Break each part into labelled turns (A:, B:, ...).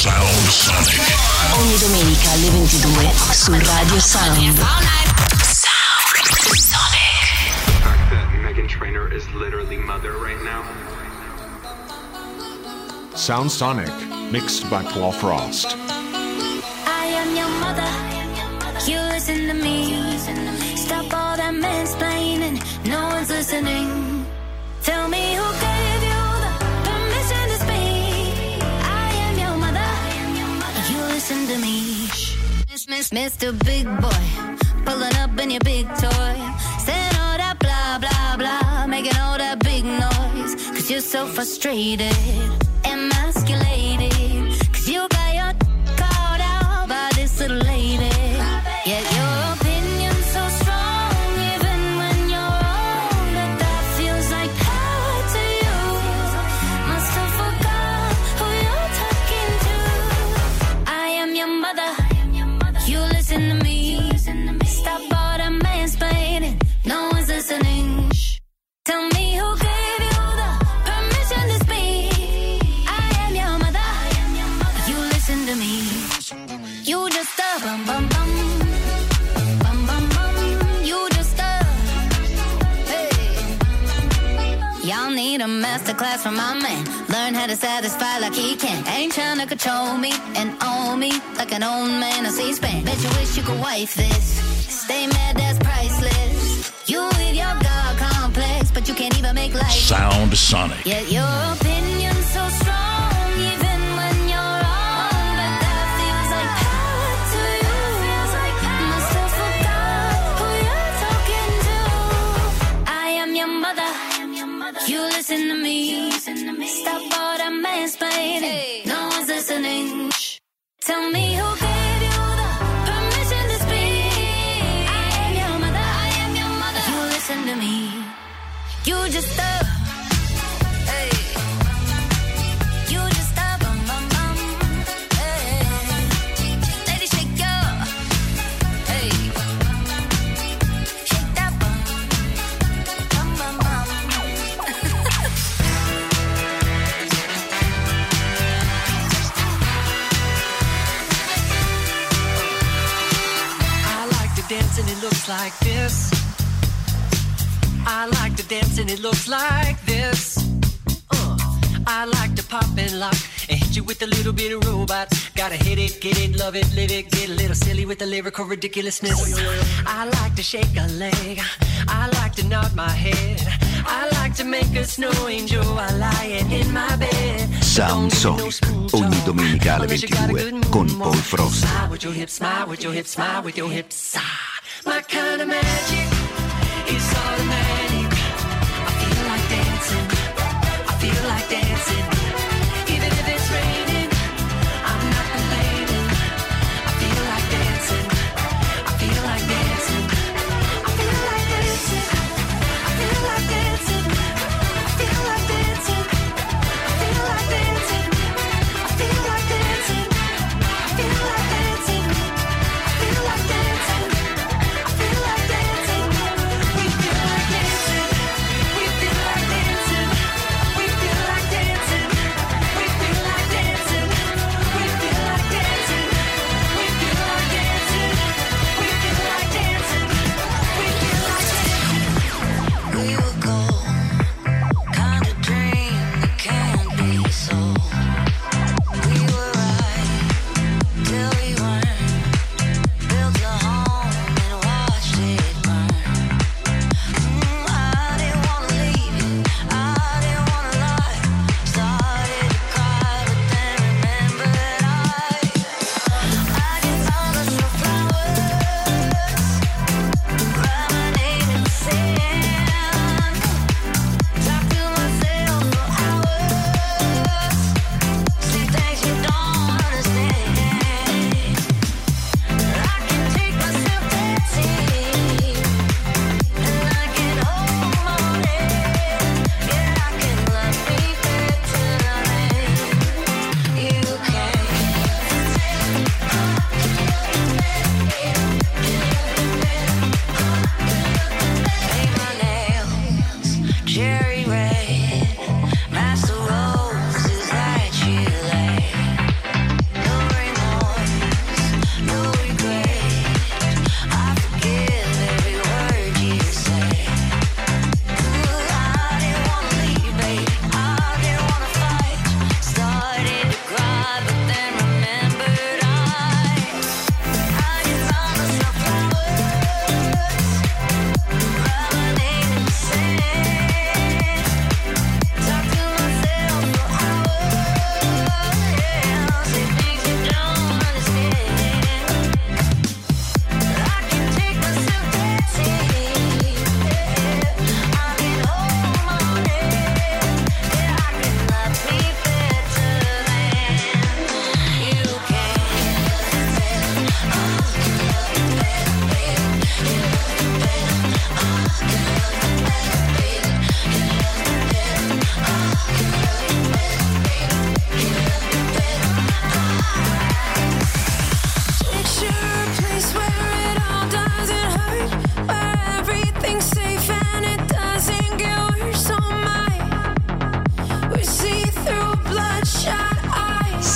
A: Sound Sonic.
B: Ogni domenica alle 22 su Radio Sound. Sound Sonic.
C: The fact that Meghan Trainor is literally mother right now.
D: Sound Sonic, mixed by Paul Frost.
E: I am your mother. You listen to me. Stop all that mansplaining. No one's listening. Tell me who gave you the permission to speak. I am your mother. You listen to me. Mr. Big Boy, pulling up in your big toy, saying all that blah blah blah, making all that big noise. 'Cause you're so frustrated, emasculated. 'Cause you got your called out by this little lady. Yet your opinion's so strong, even when you're wrong, that feels like power to you. Must have forgot who you're talking to. I am your mother. You listen to me. Stop all the mansplaining. No one's listening. Tell me who gave you the permission to speak. I am your mother. You listen to me. You just bum bum bum. Bum bum bum. You just hey. Y'all need a masterclass from my man. Learn how to satisfy like he can. Ain't trying to control me and own me like an old man on C-SPAN. Bet you wish you could wife this. Stay mad, that's priceless. You with your God complex, but you can't even make life.
A: Sound Sonic.
E: Yet your opinion's so strong, even when you're wrong. But that feels like power to you. Must have forgot who you're talking to. I am your mother. You listen to me. Stop all that mansplaining. No one's listening. Tell me who gave you the permission to speak. I am your mother. You listen to me. You just hey. You just bum bum bum. Hey. Lady, shake your hey. Shake that bum bum bum bum.
F: Dance and it looks like this. I like to dance and it looks like this. I like to pop and lock and hit you with a little bit of robot. Gotta hit it, get it, love it, live it, get a little silly with the lyrical ridiculousness. I like to shake a leg. I like to nod my head. I like to make a snow angel while lying in my bed.
G: Sound Sonic, ogni domenica alle 22 con Paul Frost.
F: Smile with your hips, smile with your hips, smile with your hips. My kind of magic is automatic. I feel like dancing. I feel like dancing. Even if it's raining, I'm not complaining. I feel like dancing. I feel like dancing. I feel like dancing. I feel like dancing. I feel like dancing. I feel like dancing. I feel like dancing. I feel like dancing. I feel like dancing. I feel like dancing. We feel like dancing.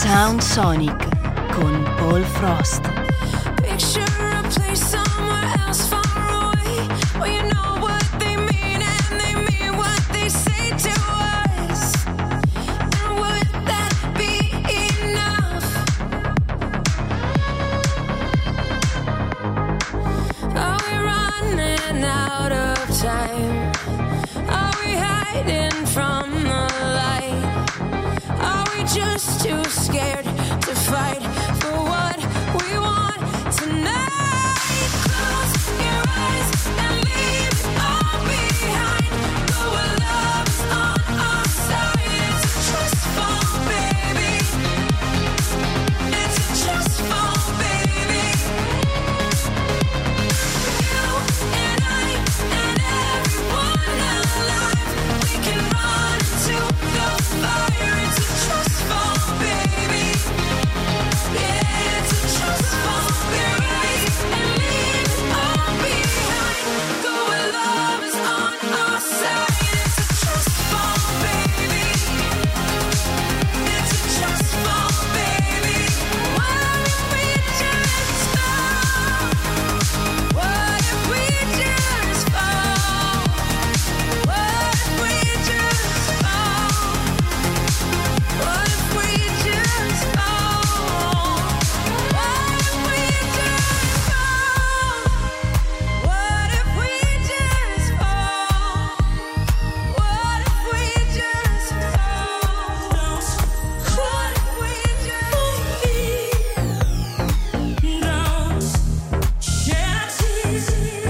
B: Sound Sonic con Paul Frost.
H: Picture a place somewhere else far away, where you know what they mean and they mean what they say to us. And would that be enough? Are we running out of time? Are we hiding from the light? Are we just too scared to fight for what we want tonight? Close your eyes and leave it all behind. Go where love's on our side. It's a trust fall, baby. It's a trust fall, baby. You and I and everyone alive, we can run into the fire. It's a trust fall, baby. Yeah, it's a trust fall, baby. And leave it all behind. Go where love is on our side. It's a trust fall, baby. It's a trust fall, baby. What if we just fall? What if we just fall? What if we just fall? What if we just fall? What if we just fall? What if we just fall? What if we just fall? What if we just shed tears?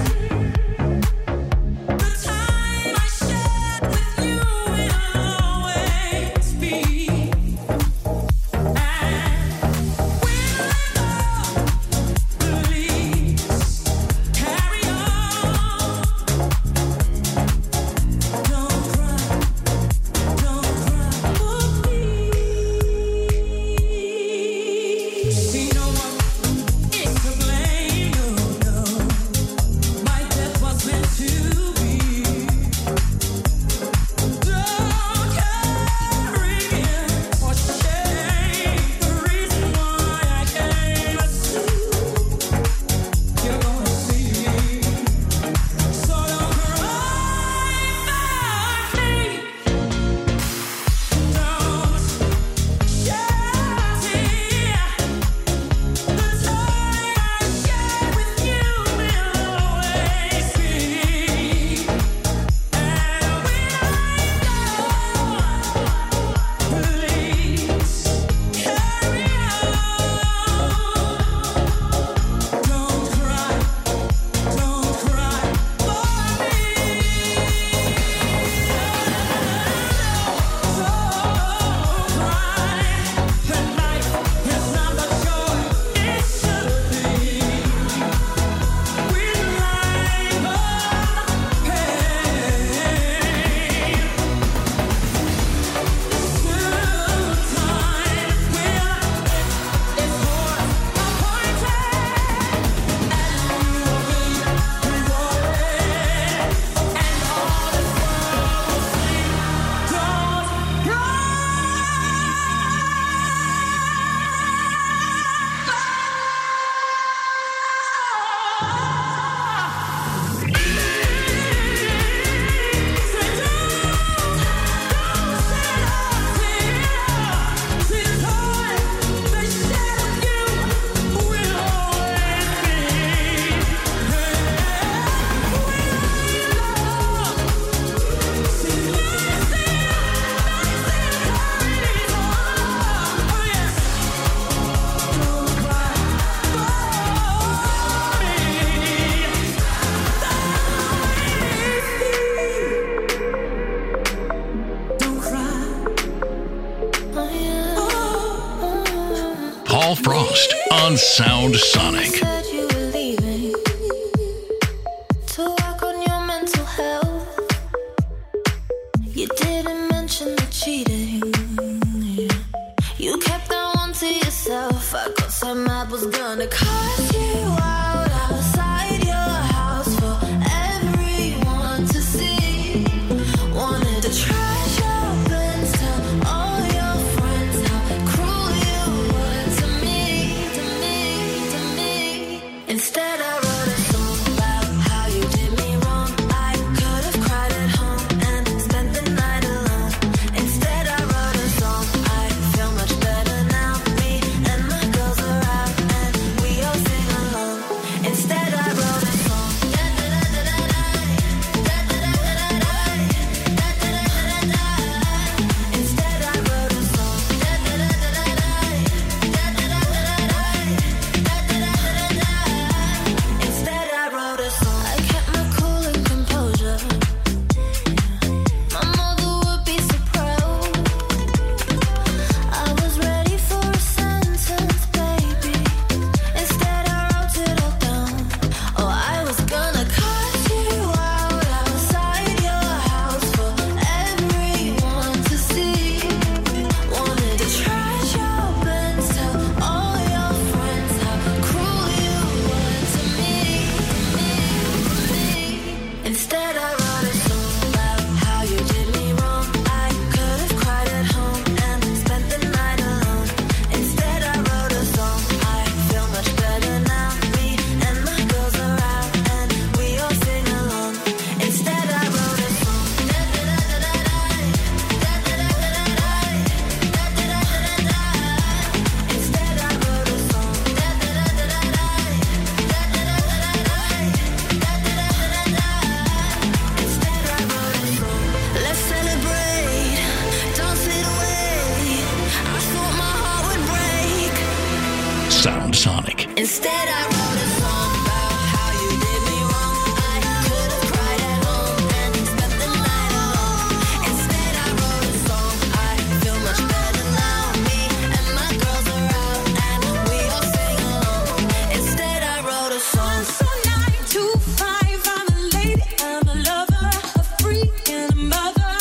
H: The time I shared with you will always be. And when love leaves, carry on. Don't cry for me. See, no one is to blame, no. My death was meant to be. Don't carry guilt or shame. The reason why I came is you're gonna see me. So don't cry for me. Don't shed tears. The time I shared with you will always be. And when I go, please carry on. Don't cry for me. That life is not the joy it should be. With life of pain, soon time will its horse appointed, and you will be rewarded, and all this world will sing. Don't
A: Paul Frost on Sound Sonic.
H: said you were leaving to work on your mental health. You didn't mention the cheating. You kept that one to yourself. I got so mad was gonna cut you out outside your house for everyone to see. Wanted to trash your plans, tell all your friends how cruel you
A: Sound Sonic.
E: Instead I wrote a song about how you did me wrong. I could have cried at home and spent the night alone. Instead I wrote a song, I feel much better now. Me and my girls are out and we all sing along. Instead I wrote a song.
H: So 9 to 5, I'm a lady, I'm a lover, a freak and a mother.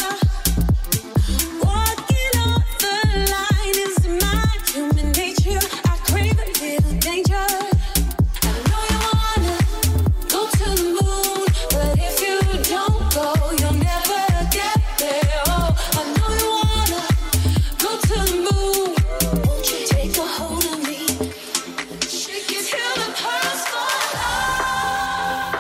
H: Walking on the line is my human nature. I crave a little danger. I know you wanna go to the moon, but if you don't go, you'll never get there. Oh, I know you wanna go to the moon. Won't you take a hold of me? Shake it till the pearls fall off.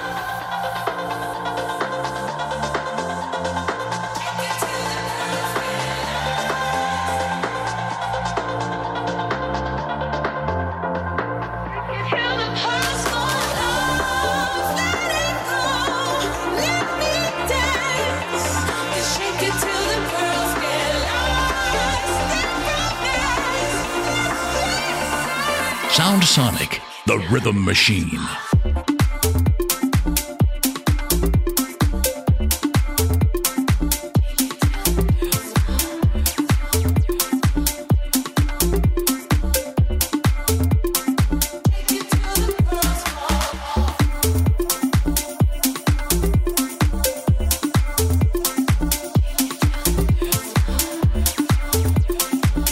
H: Till the pearls fall off. Let it go. Let me dance. And shake it till the pearls get lost.
A: Sound Sonic, the rhythm machine.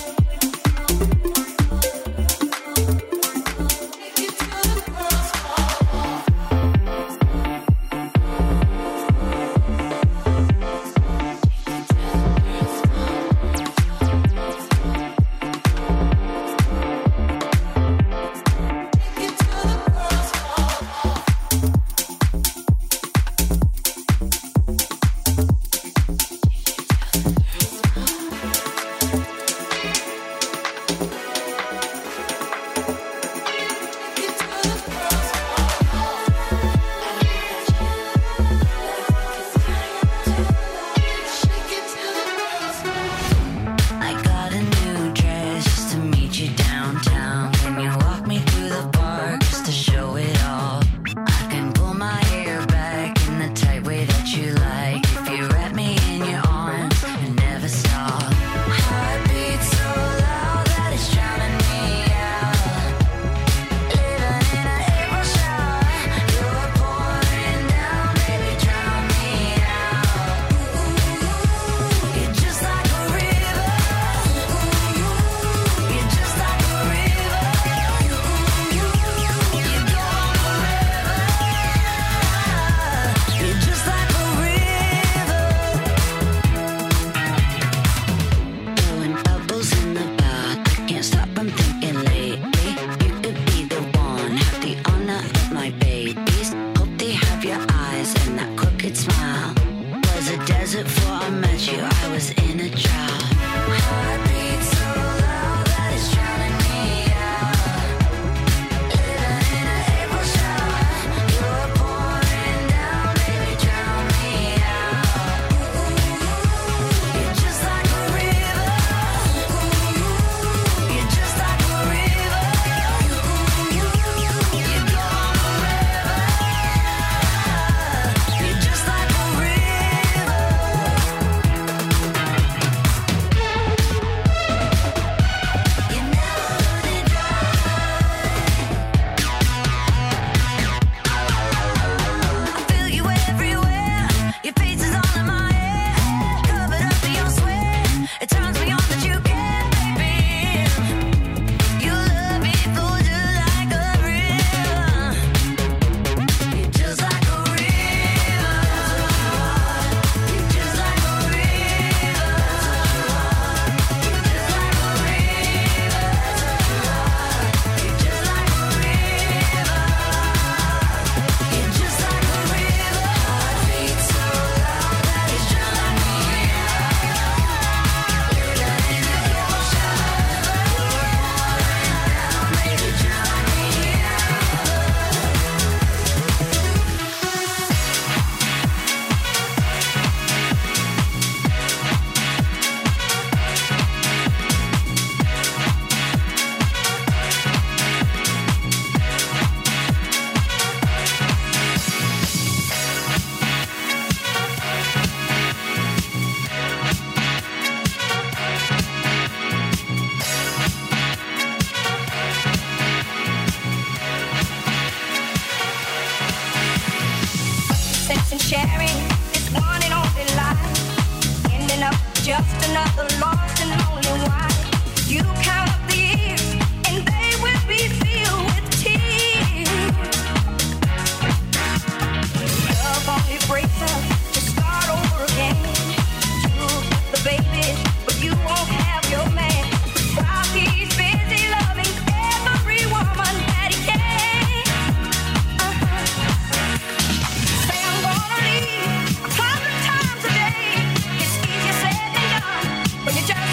H: Till the pearls fall
I: sharing this one and only life, ending up just another lost and lonely wife. You count up the years and they will be filled with tears. Love only breaks up to start over again. You the baby, but you won't have your man, while he's busy loving every woman that he can. Say I'm gonna leave 100 times a day. It's easier said than done when you just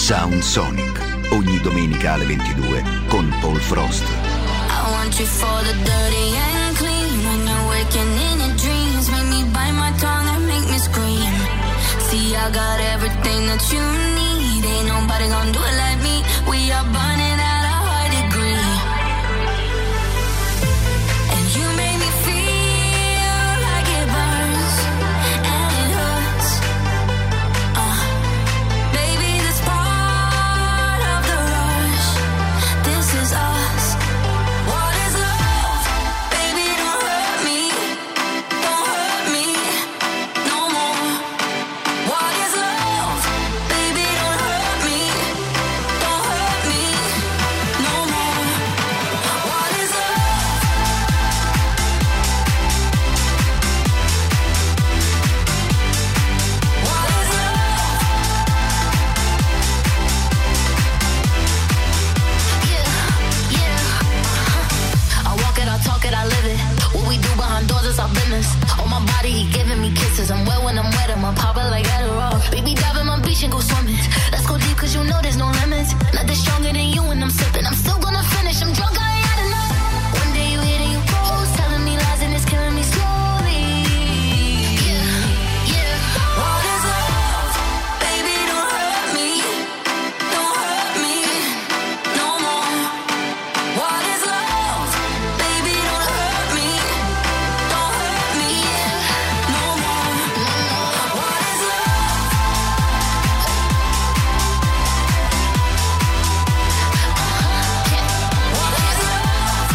G: Sound Sonic, ogni domenica alle 22 con Paul Frost.
E: I want you for the dirty and clean. When you're waking in your dreams, make me bite my tongue and make me scream. See, I got everything that you need. Ain't nobody gonna do it like me. We are burning at a high degree. And you make me feel like it burns and it hurts. Baby, this part of the rush. This is us. What is love? Baby, don't hurt me. Don't hurt me no more. What is love? Baby, don't hurt me. Don't hurt me no more. What is love? What is love? Yeah. I walk it, I talk it, I live it. What we do behind doors is our business. On my body, he giving me kisses. I'm wet when I'm wet, I'm pop it like Adderall. Baby, dive in my beach and go swimming. Let's go deep, cause you know there's no limits. Nothing stronger than you when I'm sipping. I'm still gonna finish, I'm drunk, I ain't had enough. One day you hit and you close, telling me lies and it's killing me slowly. Yeah. What is love? Baby, don't hurt me. Don't hurt me no more. What is love? Baby, don't hurt me. Don't hurt me no more. What is love? What is love?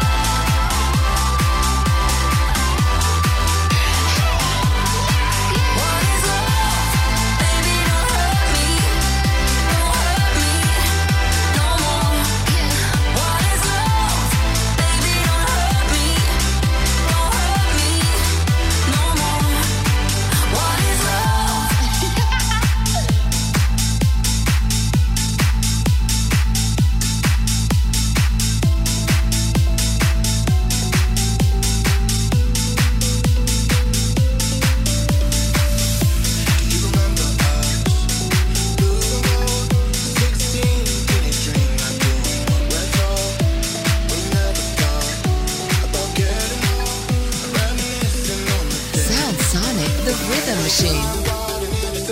E: What is love? Baby, don't hurt me. Don't hurt me no more. What is love? Baby, don't hurt me. Don't hurt me no more. What is love?
B: Sound Sonic, the rhythm machine.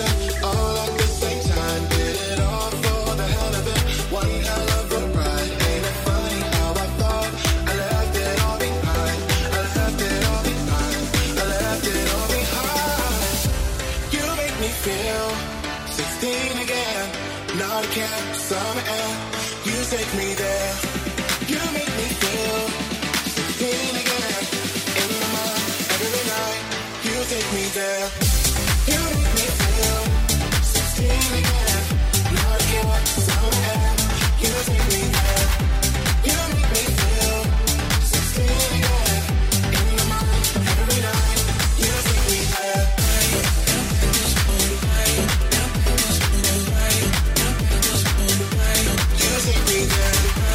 J: You make me feel 16 again. Not a cat, summer air. You take me there. You make me feel 16 again. In my mind, every night. You take me there. You make me feel 16 again. Not a cat, summer air. You take me there. You make me feel 16 again. In my mind, every night. You take me there. You take me there.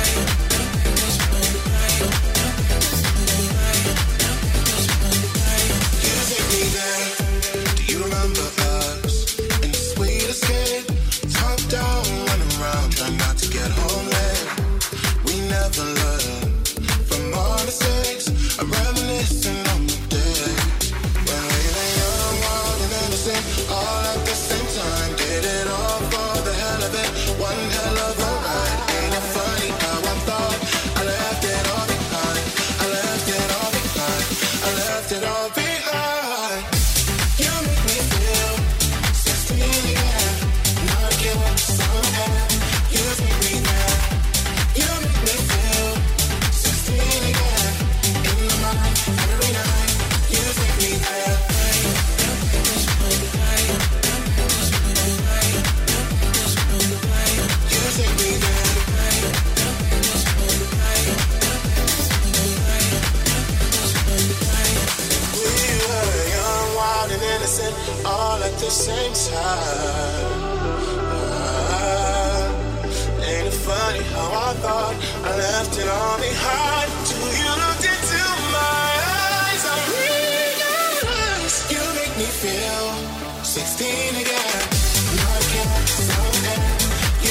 J: You take me there. Do you remember us in the sweet escape? Top down, running around, trying not to get home late. We never learn from our mistakes. I'm reminiscing on the days when we were young, wild and innocent, all at the same time. Did it all for the hell of it. One hell of a ride. Ain't it funny how I thought I left it all behind? I left it all behind. I left it all behind. You make me feel 16 again. Not a kid with some air. You take me there. You make me feel 16 again. In my mind, every night. You take me there. You take me there. We were young, wild and innocent, all at the same time. Ain't it funny how I thought I left it all behind? Till you looked into my eyes, I realized you make me feel 16 again. Not again, some air.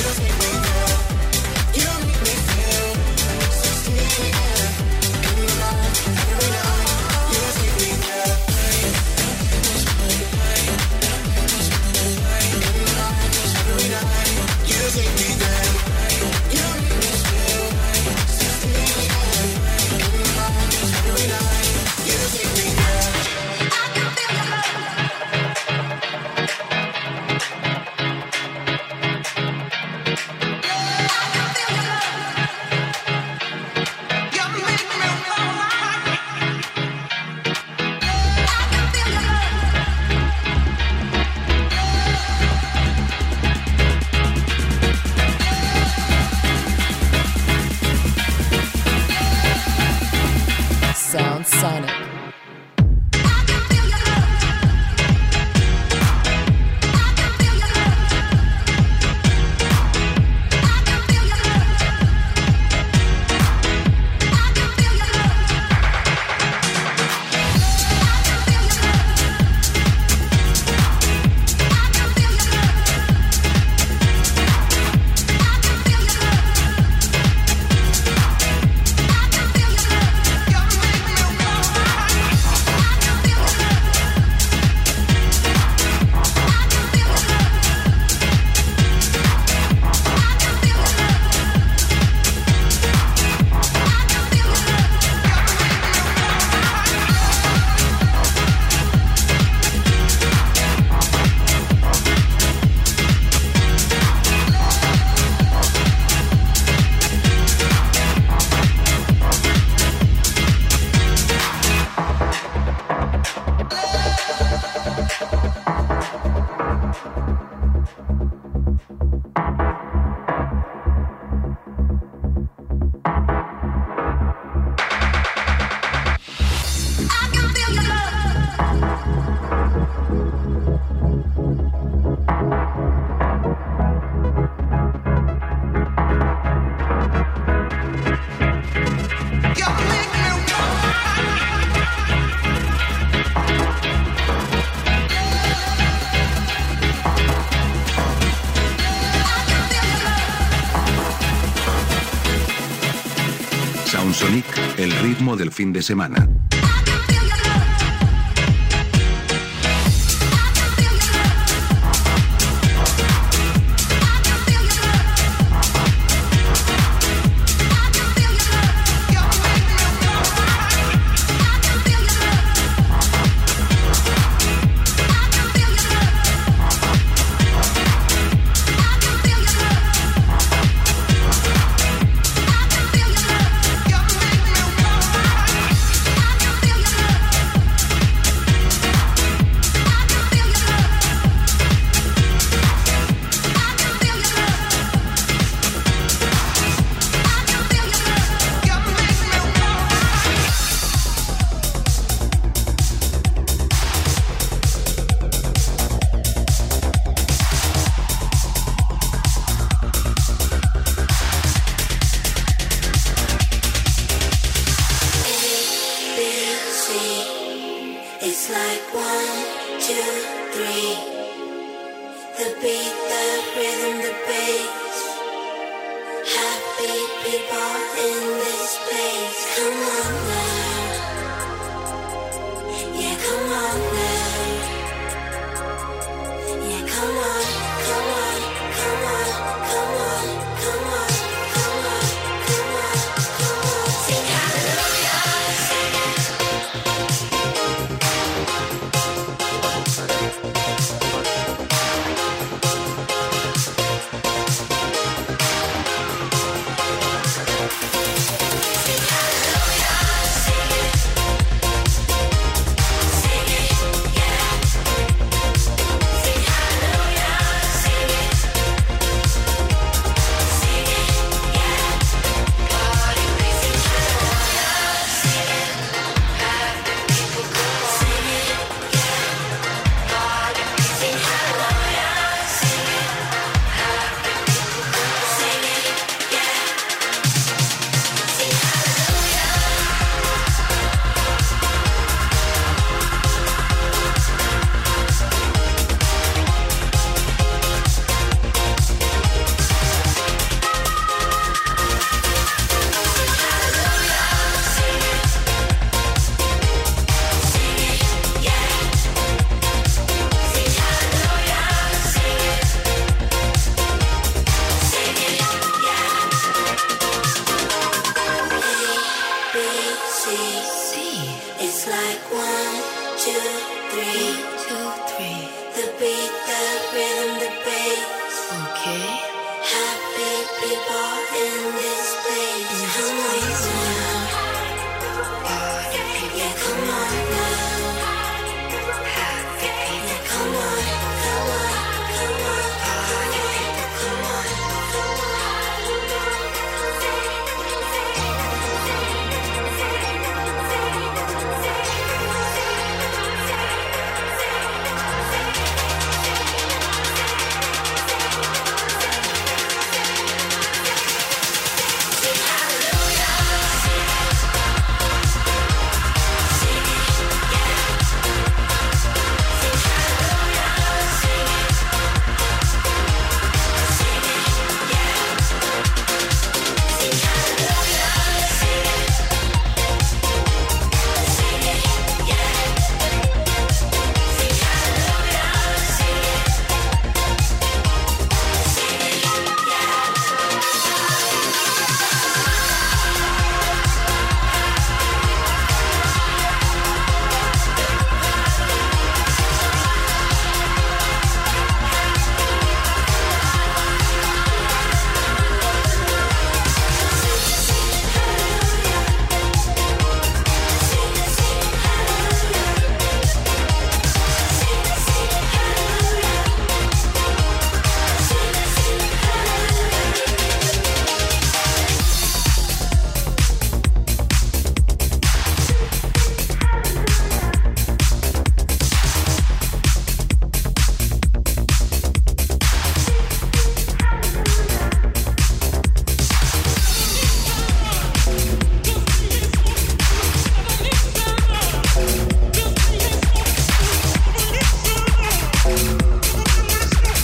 G: Sound Sonic, el ritmo del fin de semana.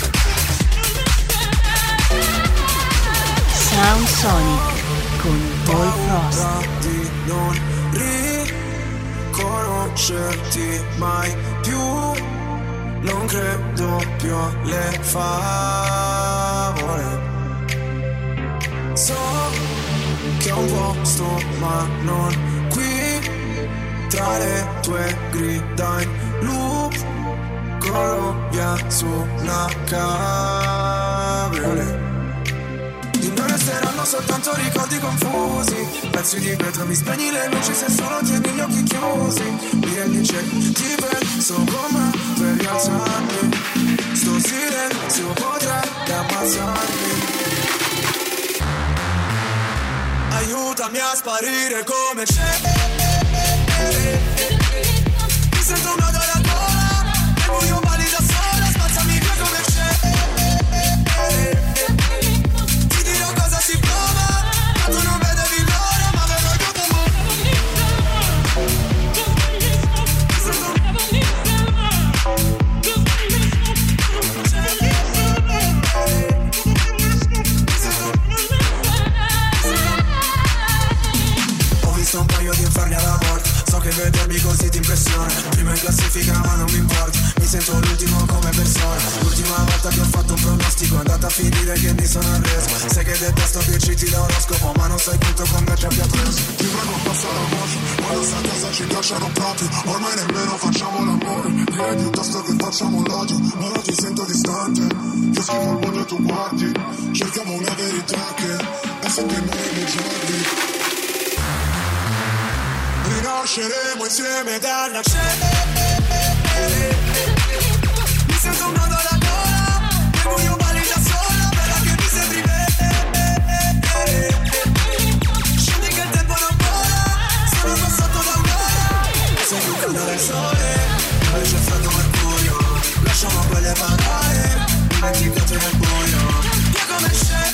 B: Sound Sonic con
H: Paul Frost. Di non riconoscerti mai più, non credo più alle favole. So che ho un posto ma non qui, tra le tue grida in loop, corro via su una cabriolet. Di noi resteranno soltanto ricordi confusi, pezzi di vetro, mi spegni le luci se solo tieni gli occhi chiusi. Mi rendi cieco, ti penso come per rialzarmi, sto silenzio potrebbe ammazzarmi. Aiutami a sparire come c'è. Mi sento un nodo alla gola, nel buio balli da sola, spazzami via come c'è. Ti dirò cosa si prova, ma tu non vedevi l'ora, ma avevo aiuto un un paio di inferni alla volta, so che vedermi così ti impressiona. Prima in classifica ma non mi importa, mi sento l'ultimo come persona. L'ultima volta che ho fatto un pronostico è andata a finire che mi sono arreso. Sai che detesto che citi da oroscopo, ma non sai quanto con me ci abbia preso.
J: Ti prego passa la voce, quando sta a casa ci piacciono proprio, ormai nemmeno facciamo l'amore. Direi piuttosto che facciamo l'odio, ma ora ti sento distante. Io schifo al mondo e tu guardi, cerchiamo una verità che è sempre noi nei giorni. Rinasceremo insieme dalla cenere. Mi sento un nodo alla gola, nel buio balli da sola, bella che mi sembri bene. Scendi che il tempo non vola, sono passato da un'ora. Sei più calda del sole, poi c'è freddo mercurio. Lasciamo quelle parole, dimenticate nel buio. Via come c'è.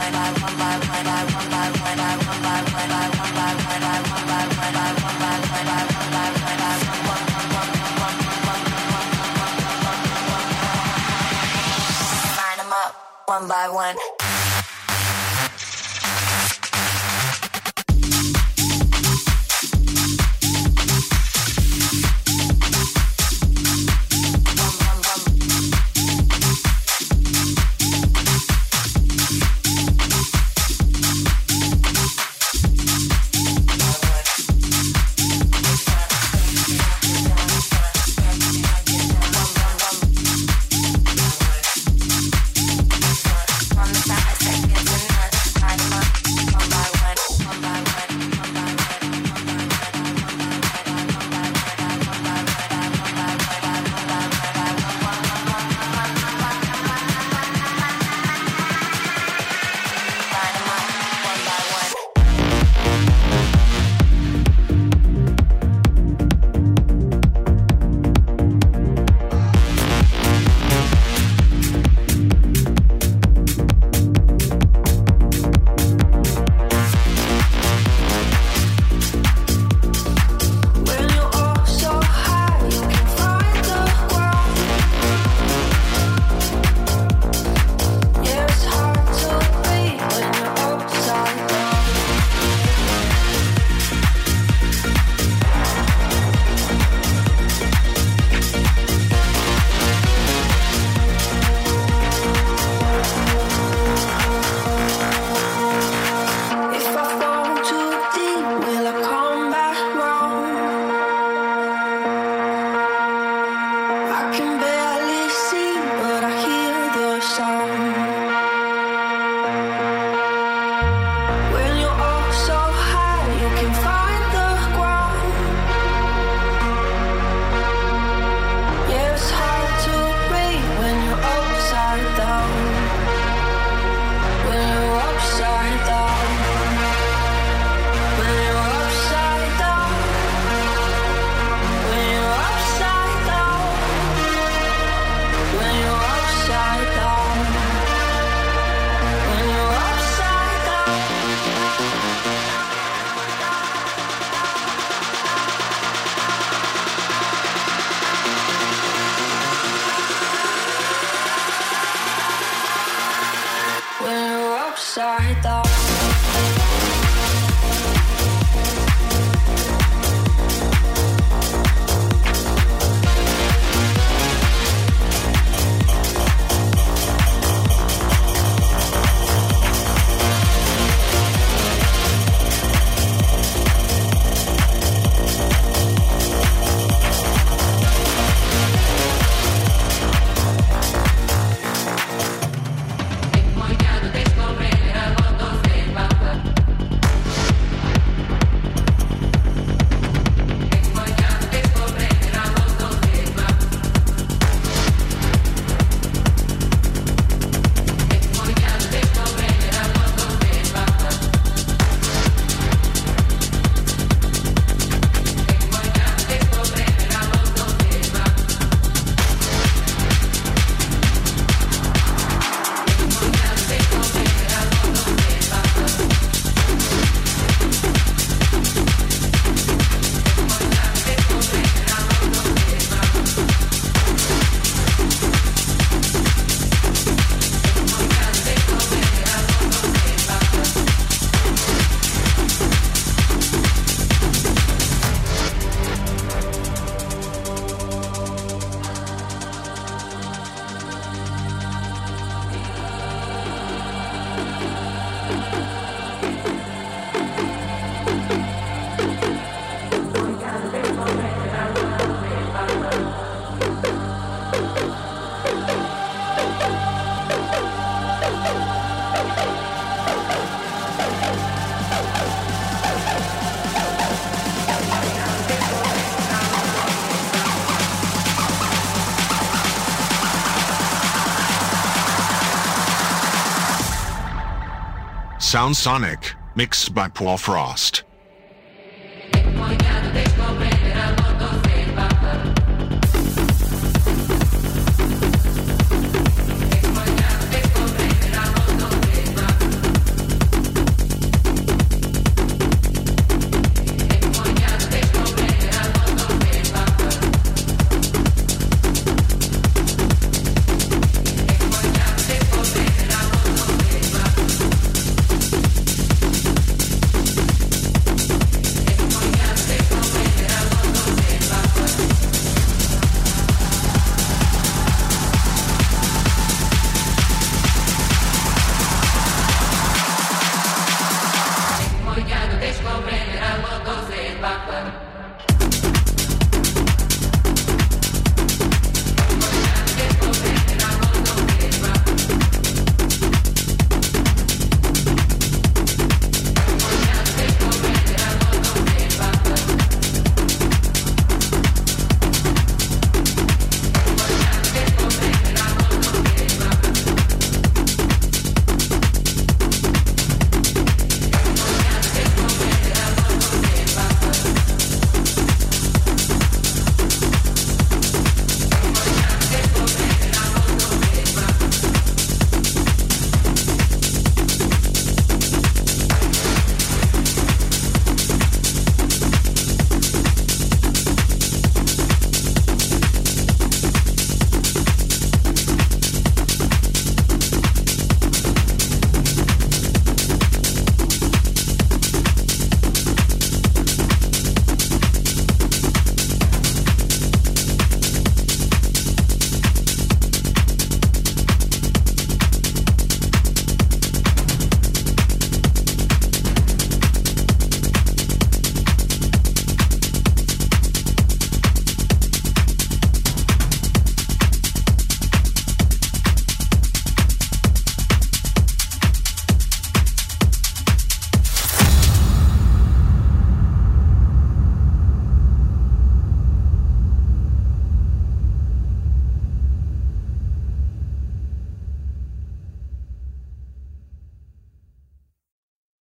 H: Line 'em up one by one. upside down.
D: Sound Sonic, mixed by Paul Frost.
H: Take my